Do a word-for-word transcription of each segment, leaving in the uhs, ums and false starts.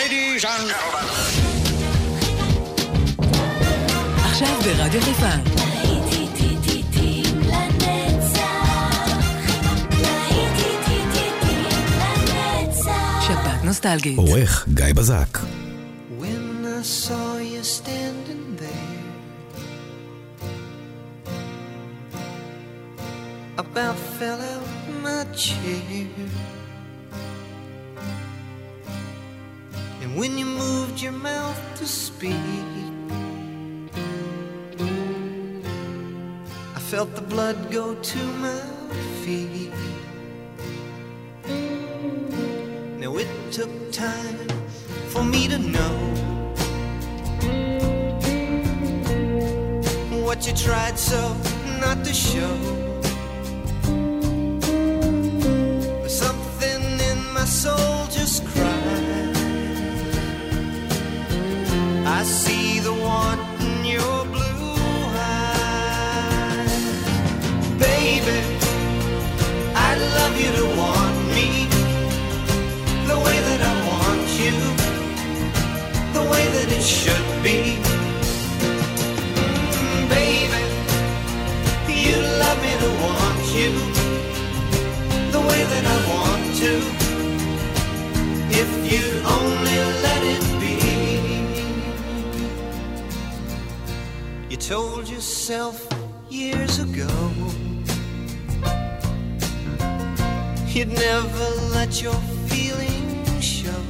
Ladies and gentlemen. עכשיו ברדיו חיפה. שבת נוסטלגית. עורך גיא בזק. When I saw you standing there, about fell out my chair. And when you moved your mouth to speak, I felt the blood go to my feet. Now it took time for me to know what you tried so not to show. But something in my soul just cried. I see the want in your blue eyes. Baby, I'd love you to want me the way that I want you, the way that it should be. Mm, baby, you love me to want you the way that I want to, if you'd only let it be. You told yourself years ago you'd never let your feelings show.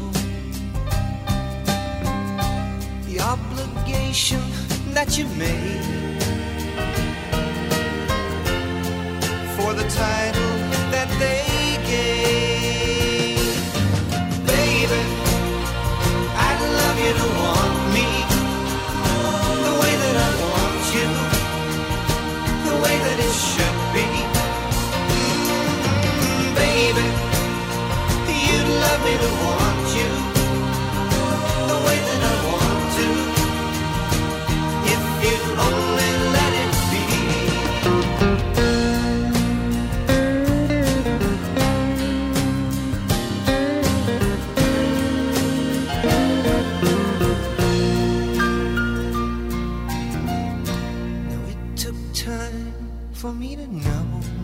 The obligation that you made for the title that they gave. Baby, I'd love you to want me the way that I want you, the way that it should be. Mm, baby, you'd love me to want you the way that I want to, if you'd only let it be. Now it took time for me to know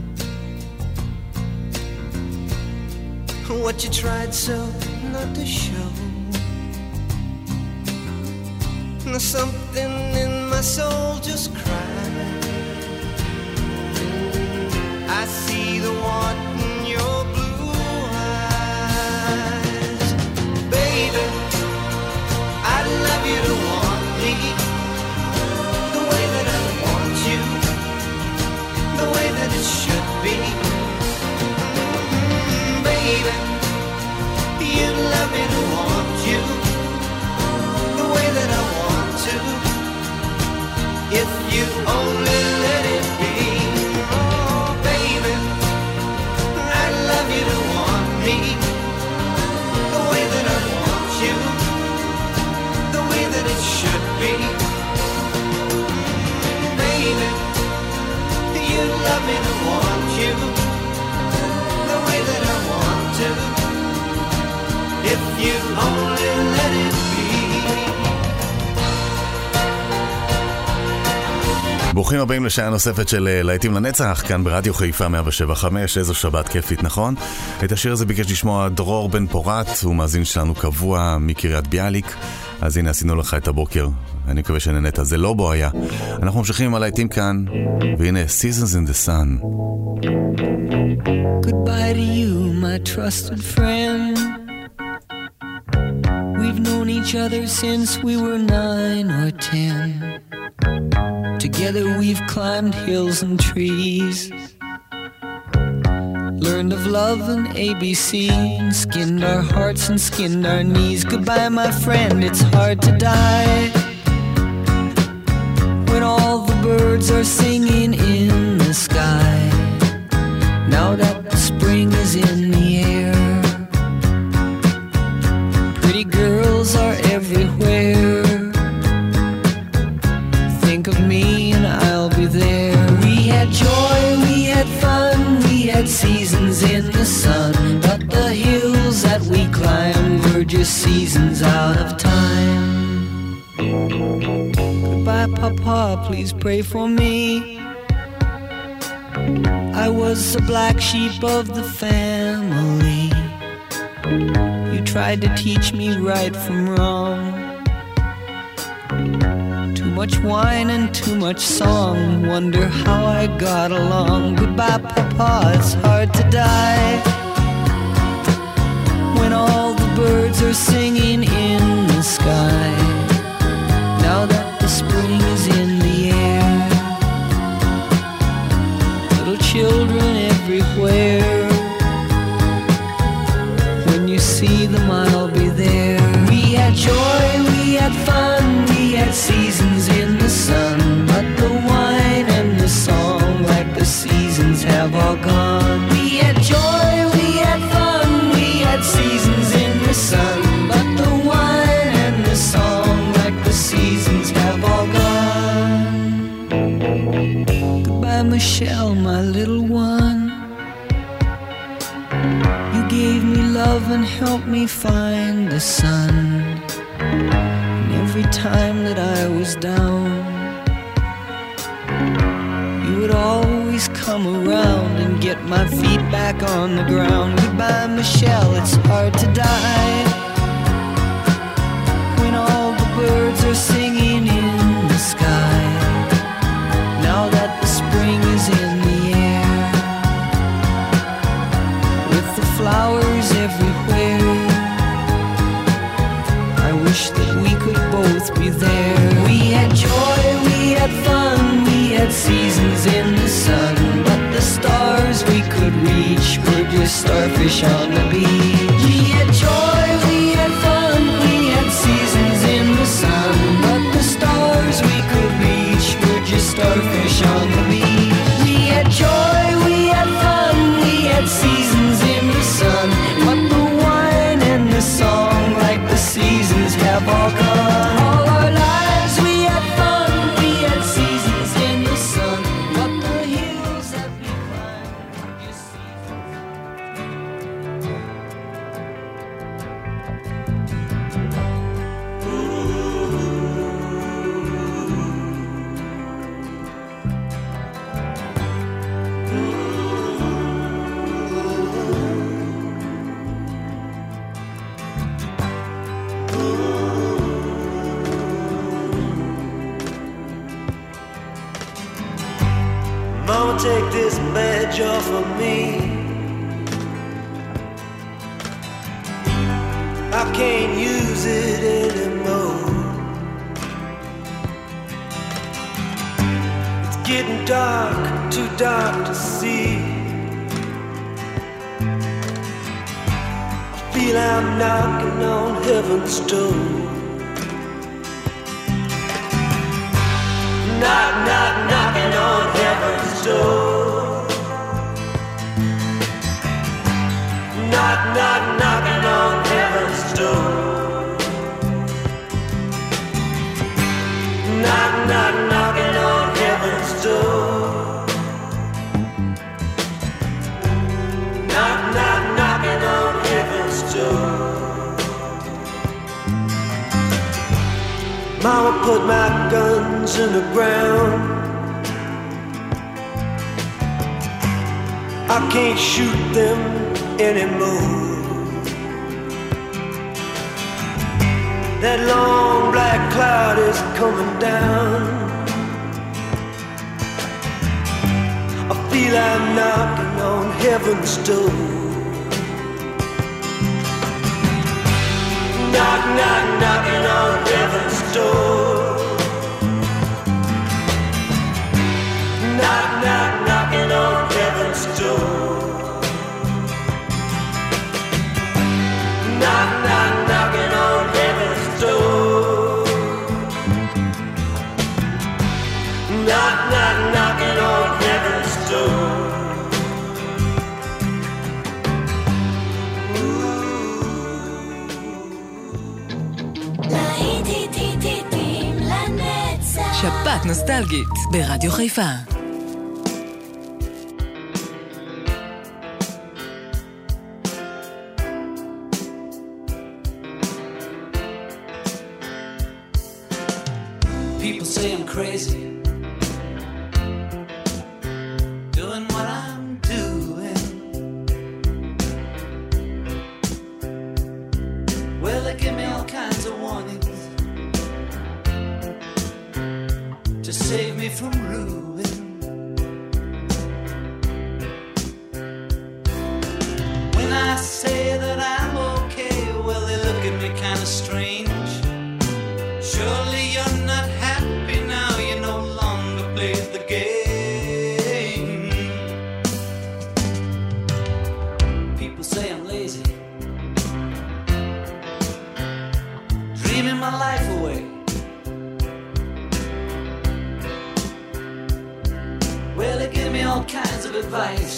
what you tried so not to show. Now something in my soul just cried. I see the want in your blue eyes. Baby, I'd love you to want me the way that I want you, the way that it should be. Mm, baby, you'd love me to want you the way that I want to, if you only let it be. Oh, baby, I'd love you to want me the way that I want you, the way that it should be. Mm, baby, you'd love me to want you the way that I want to, if you only let it be. ברוכים הבאים לשעה נוספת של להיטים לנצח, כאן ברדיו חיפה מאה שבע חמש. איזו שבת כיפית, נכון? את השיר הזה ביקש לשמוע דרור בן פורת, הוא מאזין שלנו קבוע מקריית ביאליק. אז הנה עשינו לך את הבוקר, אני מקווה שנהנית. זה לא בו היה. אנחנו ממשיכים עם הלהיטים כאן, והנה Seasons in the Sun. Goodbye to you, my trusted friend. We've known each other since we were nine or ten. Together we've climbed hills and trees, learned of love and A B C, and skinned our hearts and skinned our knees. Goodbye, my friend, it's hard to die when all the birds are singing in the sky. Now that the spring is in the air, pretty girls are everywhere. Think of me and I'll be there. We had joy, we had fun, we had seasons in the sun, but the hills that we climbed were just seasons seasons out of time. Goodbye, Papa, please pray for me. I was the black sheep of the family. You tried to teach me right from wrong. Too much wine and too much song. Wonder how I got along. Goodbye, Papa, it's hard to die when all the birds are singing in the sky. Now that the spring is in the air, little children everywhere. When you see them, I'll be there. We had joy, we had fun, we had seasons in the sun, but the wine and the song, like the seasons, have all gone. We had joy, we had fun, we had seasons in the sun, but the wine and the song, like the seasons, have all gone. Goodbye, Michelle, my little one. You gave me love and helped me find the sun. And every time that I was down, you would always come around and get my feet back on the ground. Goodbye, Michelle, it's hard to die when all the birds are singing in the sky. Now that the spring is in the air, with the flowers everywhere, I wish that we could both be there. We had joy, we had fun, we had seasons in the sun, but the stars we could reach were just starfish on the beach. We had joy, we had fun, we had seasons in the sun, but the stars we could reach were just starfish on the beach. We had joy, we had fun, we had seasons in the sun, but the wine and the song, like the seasons, have all gone. All our lives we had fun, we had seasons in the sun, but the hills that we climbed were just Mama, take this badge off of me. I can't use it anymore. It's getting dark, too dark to see. I feel I'm knocking on heaven's door. Knock, knock, knocking on heaven's door. Knock, knock, knocking on heaven's door. Knock, knock, knocking on heaven's door. Knock, knock, knocking on heaven's door. Mama put my guns in the ground. I can't shoot them anymore. That long black cloud is coming down. I feel I'm knocking on heaven's door. Knock, knock, knocking on heaven's door. Knock, knock, knocking on heaven's door. Knock, knock, knocking on heaven's door. Knock, knock, knocking on heaven's door. שבת נוסטלגית ברדיו חיפה. People say I'm crazy, doing what I'm doing. Well, they give me all kinds of warnings to save me from ruin. When I say that I'm okay, well, they look at me kind of strange. Surely you're not happy now, you no longer play the game. People say I'm lazy, dreaming my life away. Well, they give me all kinds of advice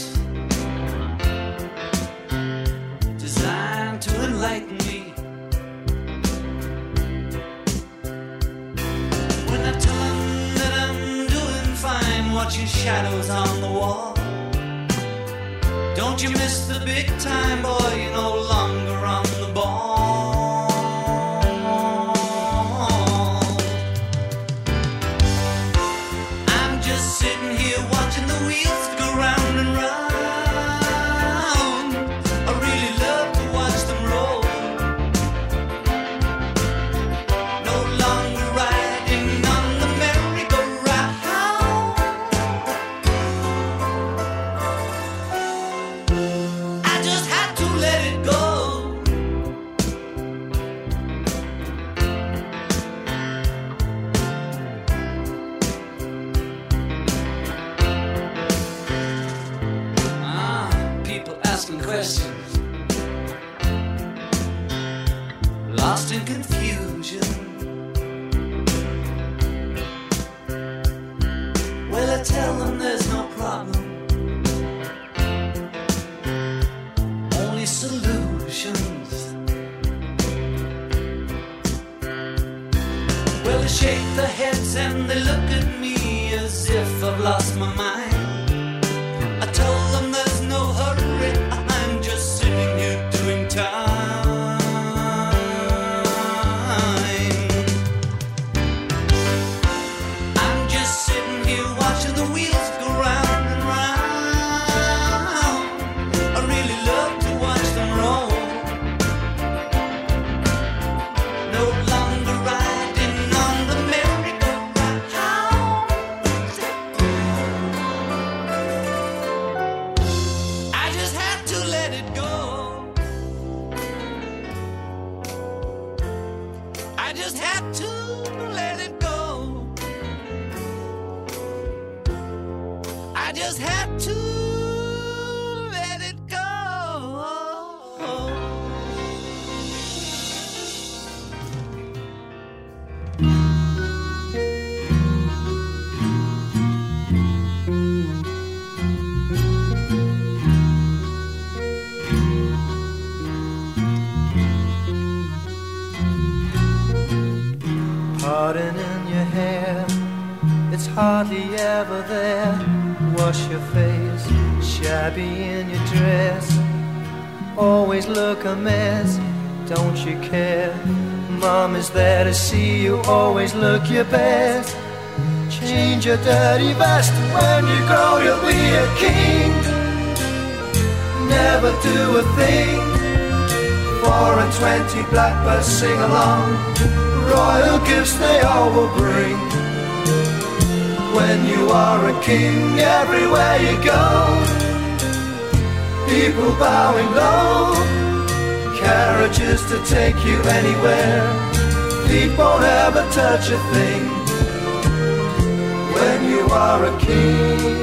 designed to enlighten me. When I tell them that I'm doing fine, watching shadows on the wall, don't you miss the big time, boy, you're no longer on the ball. I'm just sitting here watching the wheels go round and round. I really love to watch them roll. No longer riding on the merry-go-round. I just had to let it go. Ah, people asking questions, lost in confusion. Well, I tell them there's no problem, only solutions. Well, they shake their heads and they look at me as if I've lost my mind. I told them there's no hurry, I'm just sitting here doing time. I'm just sitting here watching the wheels go round and round. I really love to watch them roll. No longer riding on the merry-go-round. I just had to let it go. I just had to let it go. I just had to let it go. Pardon in your hair, it's hardly ever there. Wash your face, shabby in your dress. Always look a mess, don't you care? Mom is there to see you, always look your best. Change your dirty vest, when you grow you'll be a king. Never do a thing, four and twenty blackbirds sing along. Royal gifts they all will bring. When you are a king, everywhere you go, people bowing low, carriages to take you anywhere. Feet won't ever touch a thing when you are a king.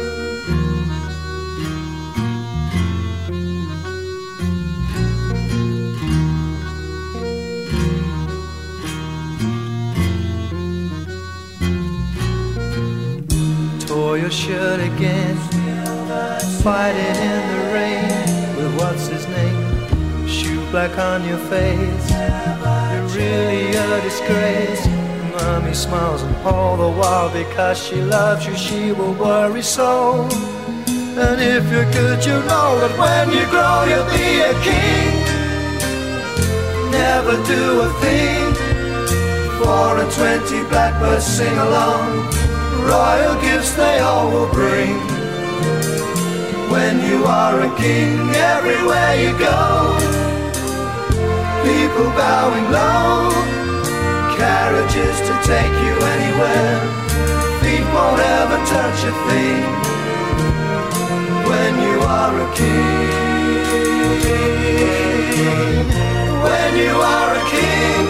Tore your shirt again, fighting in the rain with what's his name, shoe black on your face. You're really a disgrace. Mommy smiles and all the while, because she loves you she will worry so. And if you're good you know that when you grow you'll be a king. Never do a thing, four Four and twenty blackbirds sing along, royal gifts they all will bring. When you are a king, everywhere you go, people bowing low, carriages to take you anywhere, feet won't ever touch a thing. When you are a king, when you are a king,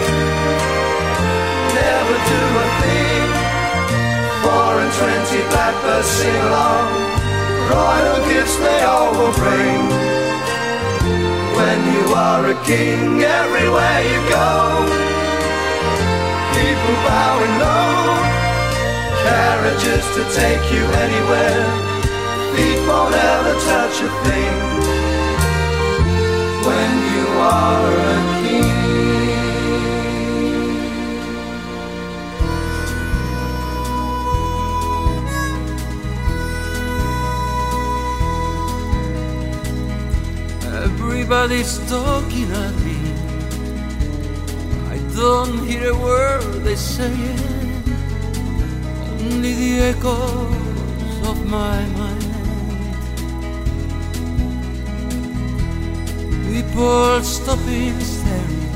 never do a thing. Four and twenty blackbirds sing along, royal gifts they all will bring. When you are a king, everywhere you go, people bowing low, carriages to take you anywhere, feet won't ever touch a thing. When you are a king. Everybody's talking at me, I don't hear a word they're saying, only the echoes of my mind. People stopping staring,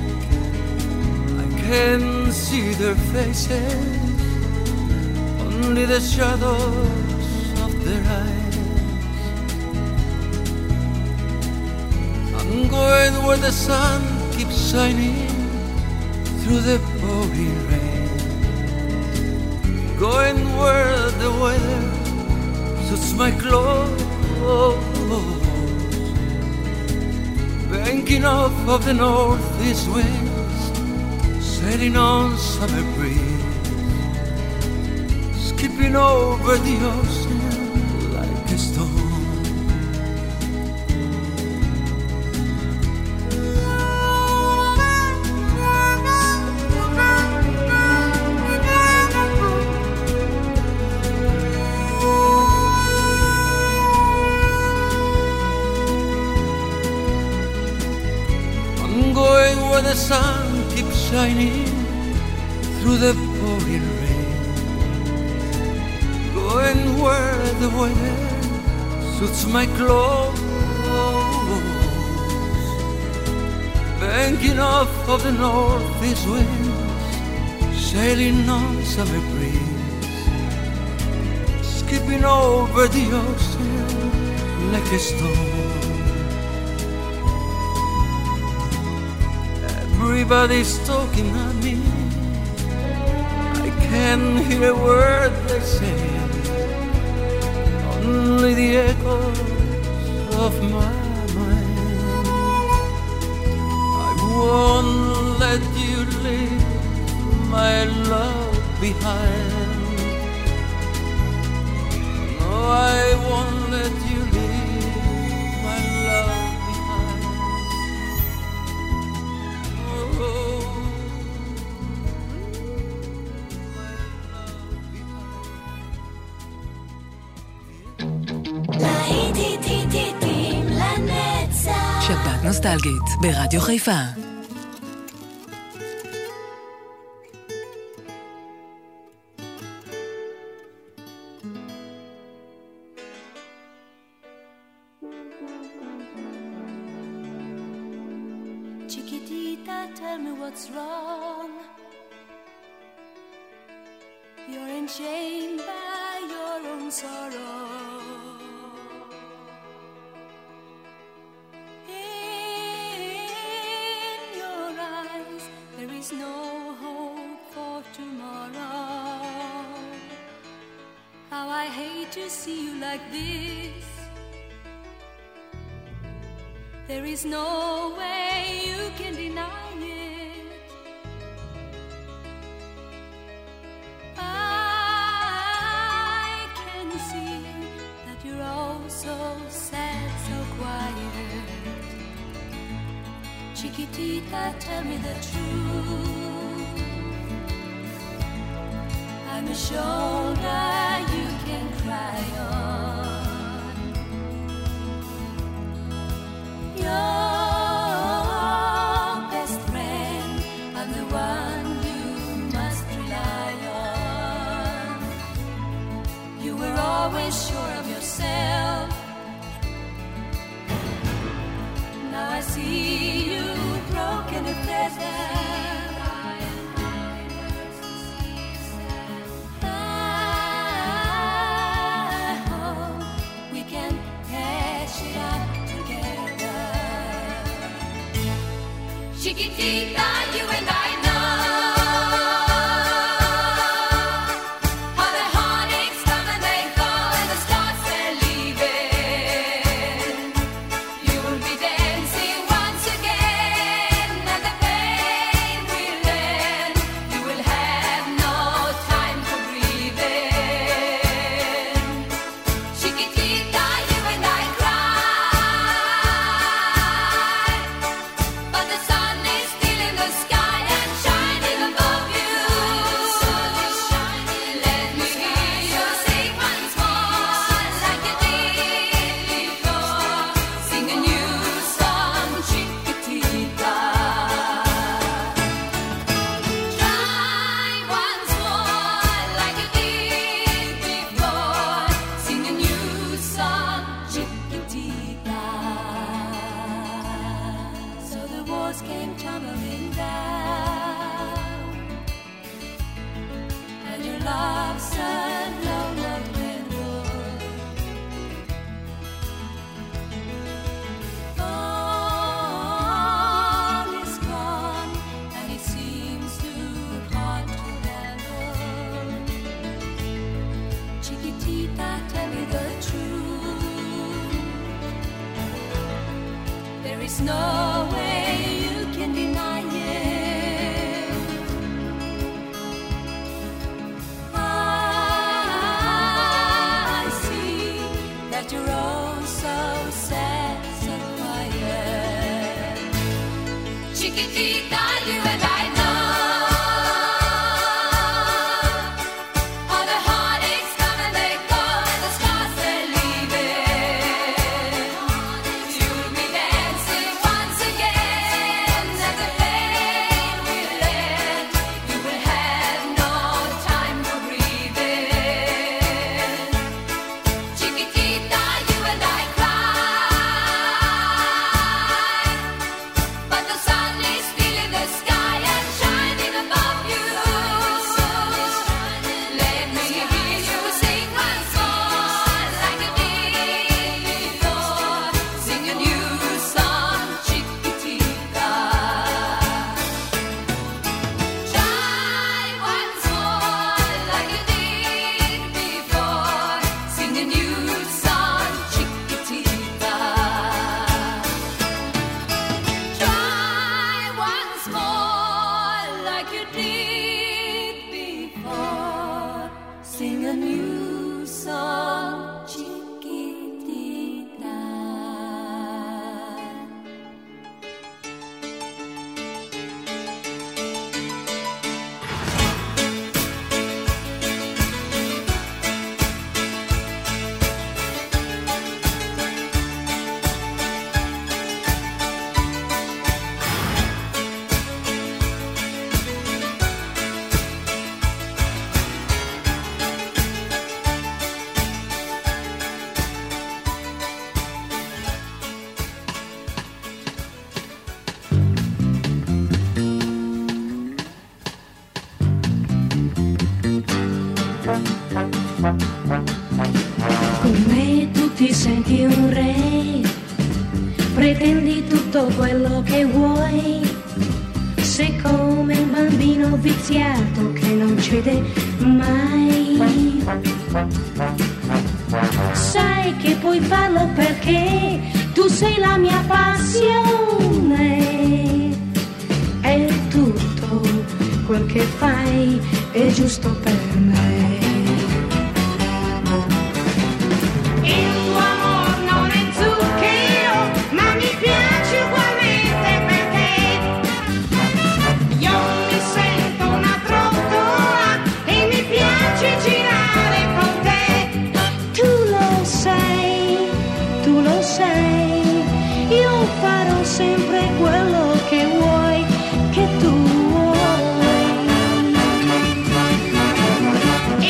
I can see their faces, only the shadows of their eyes. I'm going where the sun keeps shining through the pouring rain, going where the weather suits my clothes, banking off of the northeast winds, sailing on summer breeze, skipping over the ocean like a stone. The sun keeps shining through the pouring rain, going where the weather suits my clothes, banking off of the northeast winds, sailing on summer breeze, skipping over the ocean like a stone. Everybody's talking at me, I can't hear a word they're saying, only the echoes of my mind. I won't let you leave my love behind. No, I won't let you leave my love behind. שבת נוסטלגית ברדיו חיפה. Chiquitita, tell me what's wrong. You're enchained by your own sorrow. No hope for tomorrow. How I hate to see you like this. There is no way you can deny it. I can see that you're all so sad, so quiet. Chiquitita, tell me the truth. I'm a shoulder you can cry on. Your best friend, I'm the one you always sure of yourself. Now I see you broken and feathered. Chiquitita, you and I know how the heartaches come and they go and the stars they're leaving. You will be dancing once again and the pain will end. You will have no time for breathing. Chiquitita, you and I cry, but the sun is still in the sky and shining above you. Let me hear you sing once more like you did before. Sing a new song, Chiquitita. Try once more like you did before. Sing a new song, Chiquitita. So the walls came tumbling down, and your love said no love candle. All is gone, and it seems too hard to handle. Chiquitita, tell me the truth. There is no way you can deny it. I see that you're all so sad, so quiet. Chiquitita, you and I know how the heartaches come and they go and the stars they're leaving. You'll be dancing once again and the pain will end. You will have no time for breathing. Chiquitita, you and I cry, but the sun is still in the sky and shining above you. Let me hear you sing once more like you did before. Sing a new song, Chiquitita. Try once more like you did before. Sing a new song, Chiquitita. Try once more like you did before. Sing a new song, Chiquitita. Con me tu ti senti un re, pretendi tutto quello che vuoi, sei come un bambino viziato che non cede mai. Sai che puoi farlo perché tu sei la mia passione, e tutto quel che fai è giusto per me. Il tuo amor non è zucchero, ma mi piace ugualmente perché io mi sento una trottola e mi piace girare con te. Tu lo sai, tu lo sai, io farò sempre quello che vuoi, che tu vuoi.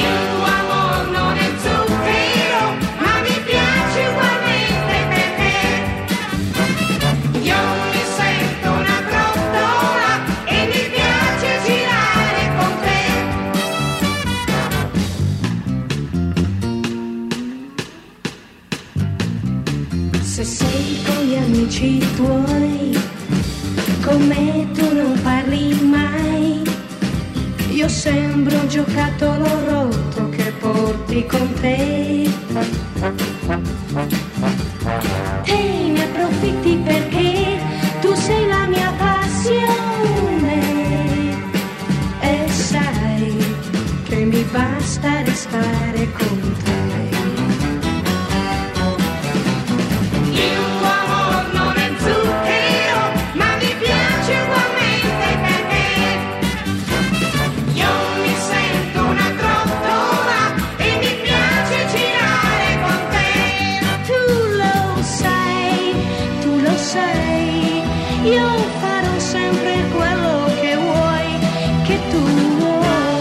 io sembro un giocattolo rotto che porti con te. Te ne approfitti perché tu sei la mia passione e sai che mi basta restare con te. Il tuo amor non è zucchero, ma mi piace ugualmente perché io mi sento una trottola e mi piace girare con te. Tu lo sai, tu lo sai, io farò sempre quello che vuoi, che tu vuoi.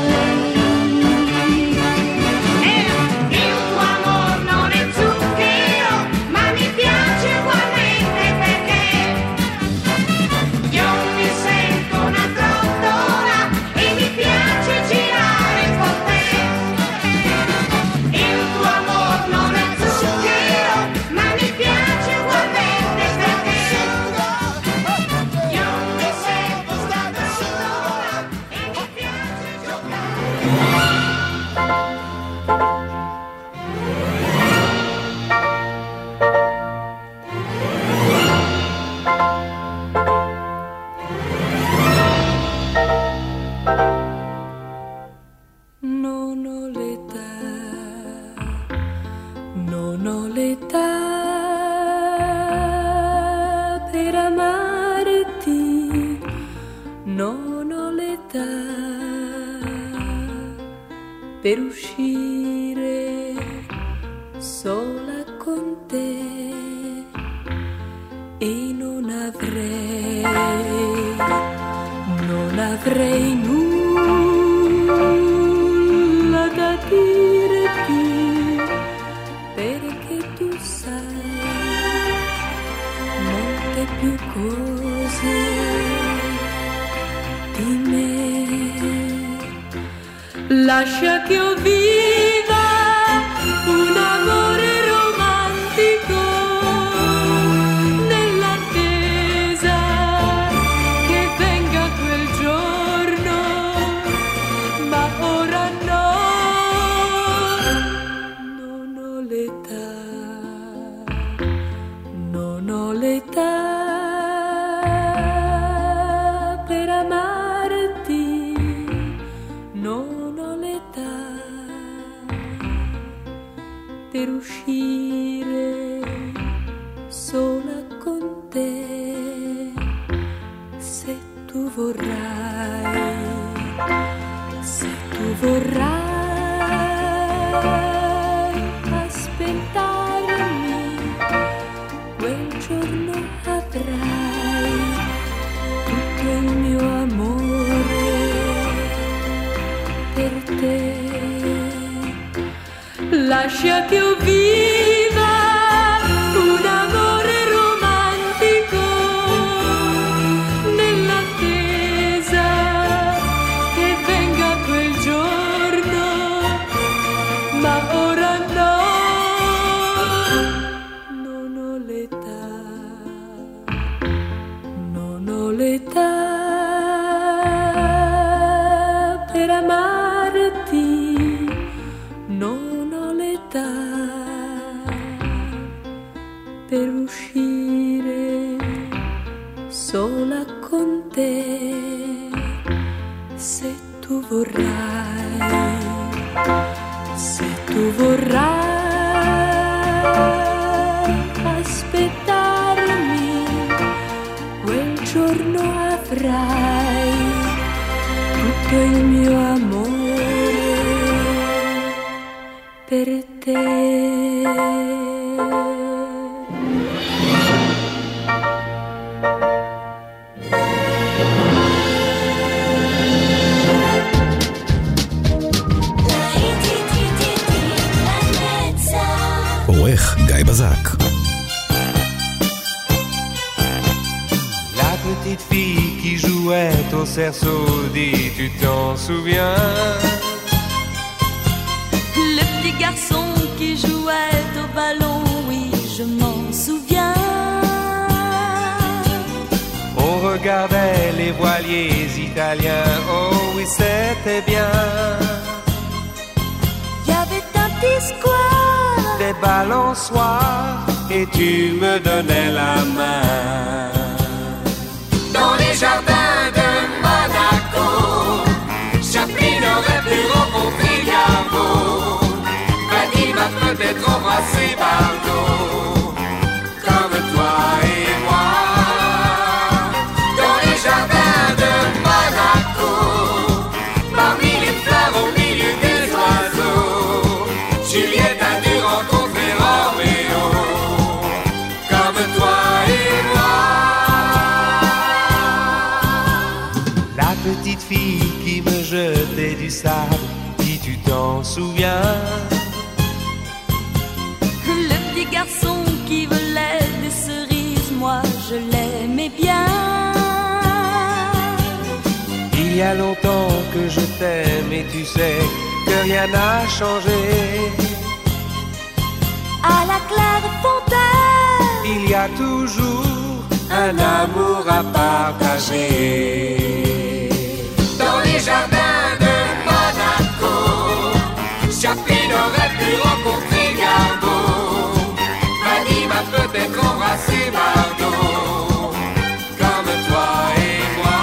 Per uscire sola con te e non avrei, non avrei nulla da dirti, perché tu sai molte più cose di me. Lascia che io viva un amore romantico nell'attesa che venga quel giorno, ma ora no, non ho l'età, non ho l'età per amarti, non per uscire sola con te. Se tu vorrai, se tu vorrai aspettarmi, quel giorno avrai tutto il mio amore per te. Lascia che io viva un amore romantico nell'attesa che venga quel giorno, ma ora no, non ho l'età, non ho l'età per amarti, non per uscire sola con te. Se tu vorrai, se tu vorrai aspettarmi, quel giorno avrai tutto il mio amore per te. עורך גיא בזק. La petite fille qui jouait au cerceau dit, tu t'en souviens? Le petit garçon qui jouait au ballon, oui, je m'en souviens. On regardait les voiliers italiens, oh oui, c'était allait bien. Y avait un petit square, Des balançoires et tu me donnais la main. Dans les jardins de Monaco, Chaplin aurait pu rencontrer Garbo. Vadim a peut-être embrassé Bardot, comme toi et moi. Dans les jardins de Monaco, parmi les fleurs au milieu des oiseaux, Juliette a dû rencontrer Roméo, comme toi et moi. La petite fille qui me jetait du sable, si tu t'en souviens. le petit garçon qui volait des cerises, moi je l'aimais bien. Il y a longtemps que je t'aime et tu sais que rien n'a changé. À la claire fontaine, Il y a toujours un amour à partager. Dans les jardins de Monaco, Chaplin aurait pu rencontrer Garbo. Vadim a peut-être embrassé Bardot, comme toi et moi.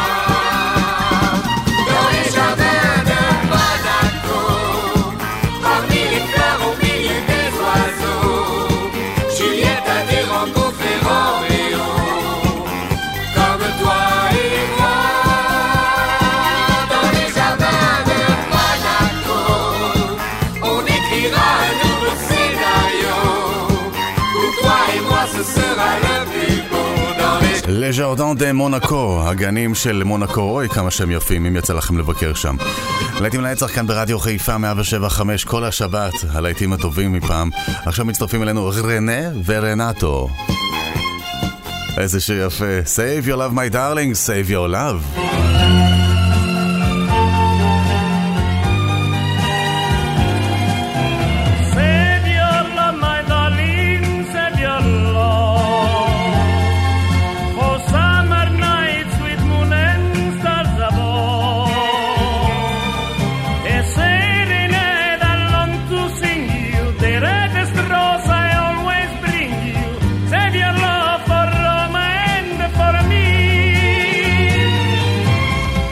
Dans les jardins de Monaco, parmi les fleurs au milieu des oiseaux, Juliette a dû rencontrer Roméo, comme toi et moi. Dans les jardins de Monaco, on écrira un nouveau scénario, où toi et moi ce sera le plus beau. Dans les לג'רדן דה מונקו, הגנים של מונקו, אוי כמה שהם יפים, אם יצא לכם לבקר שם. להיטים לנצח כאן ברדיו חיפה מאה ושבע חמש כל השבת, הלהיטים הטובים מפעם. עכשיו מצטרפים אלינו רנה ורנטו. איזה שיר יפה. Save your love my darling, save your love. Save your love, my darling, save your love. For summer nights with moon and stars above. A serenade I long to sing you, the reddest rose I always bring you. Save your love for Roma and for me.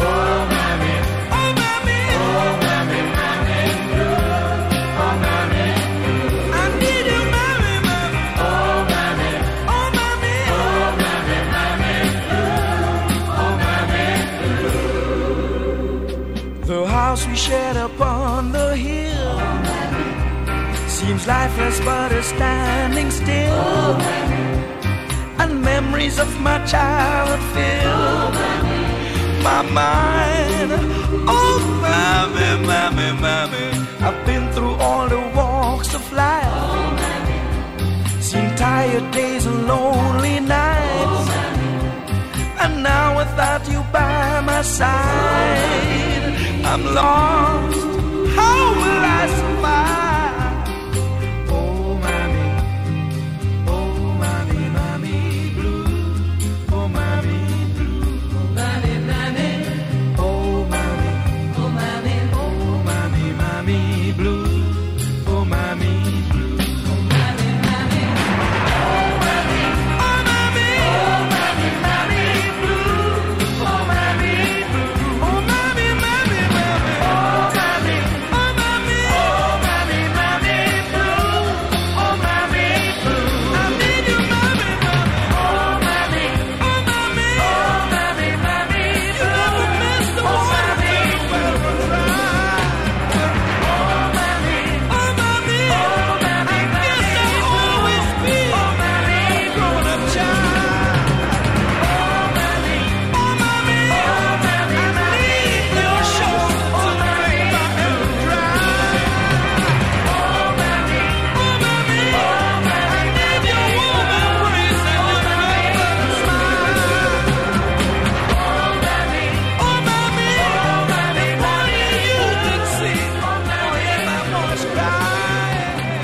upon the hill seems lifeless but is standing still, and memories of my childhood fill my mind. Oh, mommy, mommy, mommy, I've been through all the walks of life, seen tired days and lonely nights, and now without you by my side, I'm lost. How will I survive? Oh, mommy, oh, mommy, mommy blue, oh, mommy blue, oh, mommy, mommy, oh, mommy, oh, mommy, oh, mommy, mommy blue, oh, mommy blue, oh, mommy, mommy, oh, mommy, oh, mommy, oh, mommy, mommy blue, oh, mommy blue, oh, mommy, mommy, mommy, oh, mommy, oh, mommy, oh, mommy, mommy blue, oh, mommy blue, I need you, mommy, mommy, oh, mommy, oh, mommy, oh, mommy, mommy blue, miss the water till the well dry. Oh, mommy, oh, mommy, oh, mommy, I guess I'll always be oh, mommy, grown-up child. Oh, mommy, oh, mommy, oh, mommy, I need your shoulder till the well dry. Oh, mommy, oh, mommy, oh, mommy, I need your warm embrace and your loving smile. Oh, mommy, oh, mommy, oh, mommy, if only you could see how if I must cry.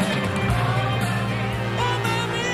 Oh, mommy.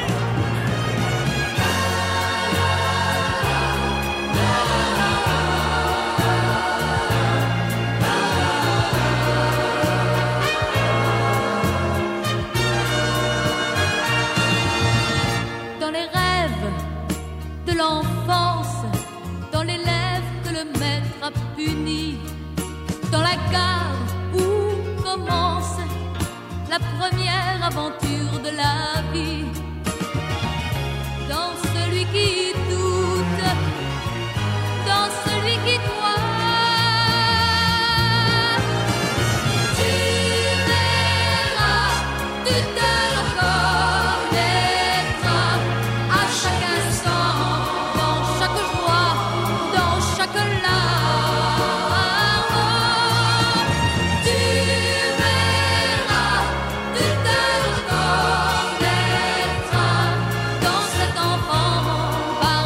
Dans les rêves de l'enfance, dans les lèvres que le maître a puni, dans la gare où commence la première aventure de la vie, dans celui qui doute, dans celui qui croit, tu verras, tu te reconnaîtras à chaque instant, dans chaque joie, dans chaque larme. Tu verras, tu te reconnaîtras dans cet enfant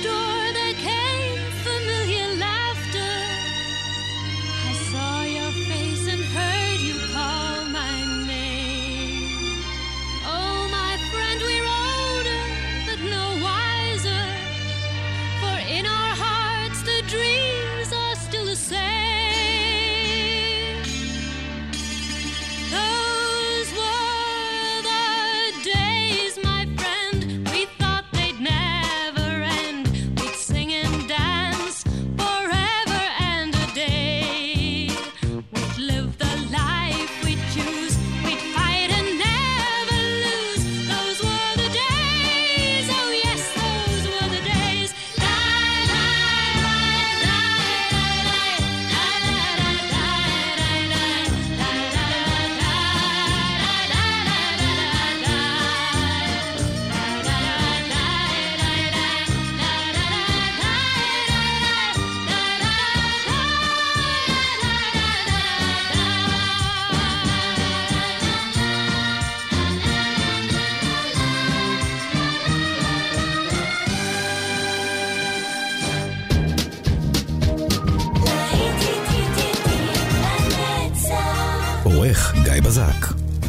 door there came familiar laughter. I saw your face and heard you call my name. Oh, my friend, we're older, but no wiser. For in our hearts the dreams are still the same. Those were the days, my friend, we thought they'd never end. We'd sing and dance forever and a day. We'd live the life we choose. We'd fight and never lose. Those were the days. Oh yes, those were the days. עורך גיא בזק.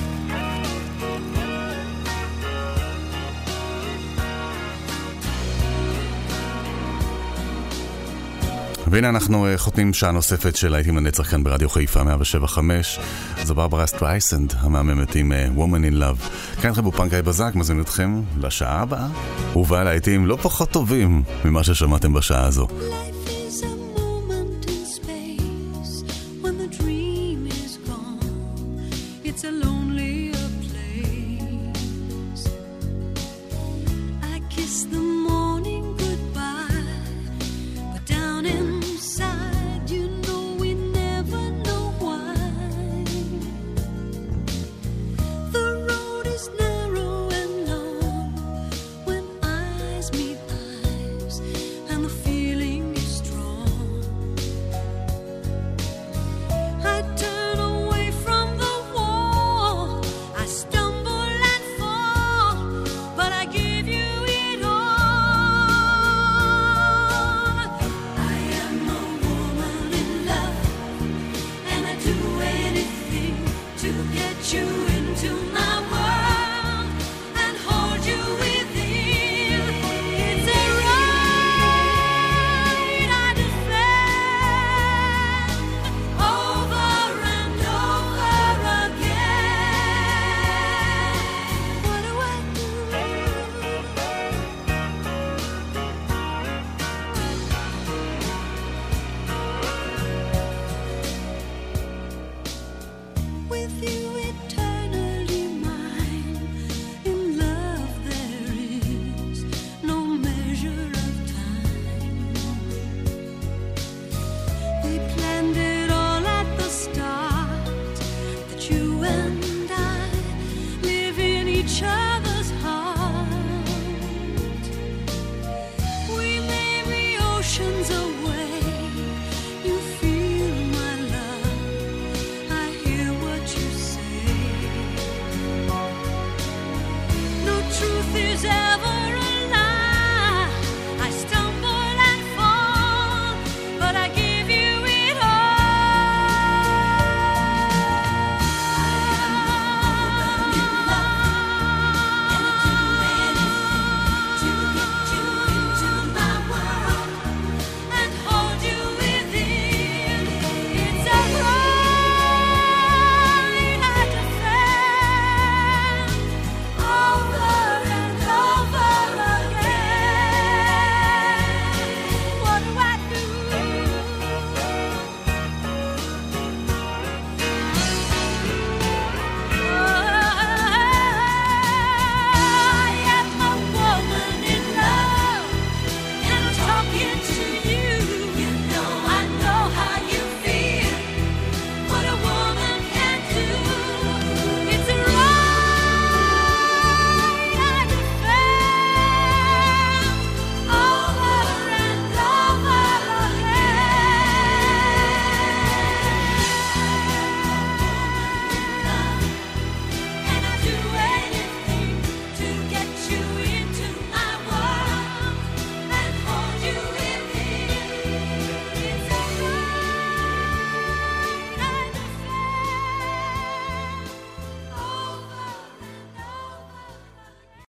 והנה אנחנו uh, חותמים שעה נוספת של להיטים לנצח כאן ברדיו חיפה מאה שבע חמש. זו ברברה סטרייסנד המהממת עם uh, Woman in Love. כאן אתכם באופן גיא בזק, מזמין אתכם לשעה הבאה ובאה להיטים לא פחות טובים ממה ששמעתם בשעה הזו. Life is a moment in space when the dream is gone. It's a lonelier place. I kiss the morning goodbye, but down inside you know we never know why. The road is narrow and long when eyes meet eyes, and the feeling is strong. I turn away from the wall, I stumble and fall, but I give you it all. I am a woman in love, and I do anything to get you into my world and hold you within. It's a right I defend over and over again. What do I do? With you eternally mine, in love there is no measure of time. We planned it all at the start, that you and I live in each other's heart. We may be oceans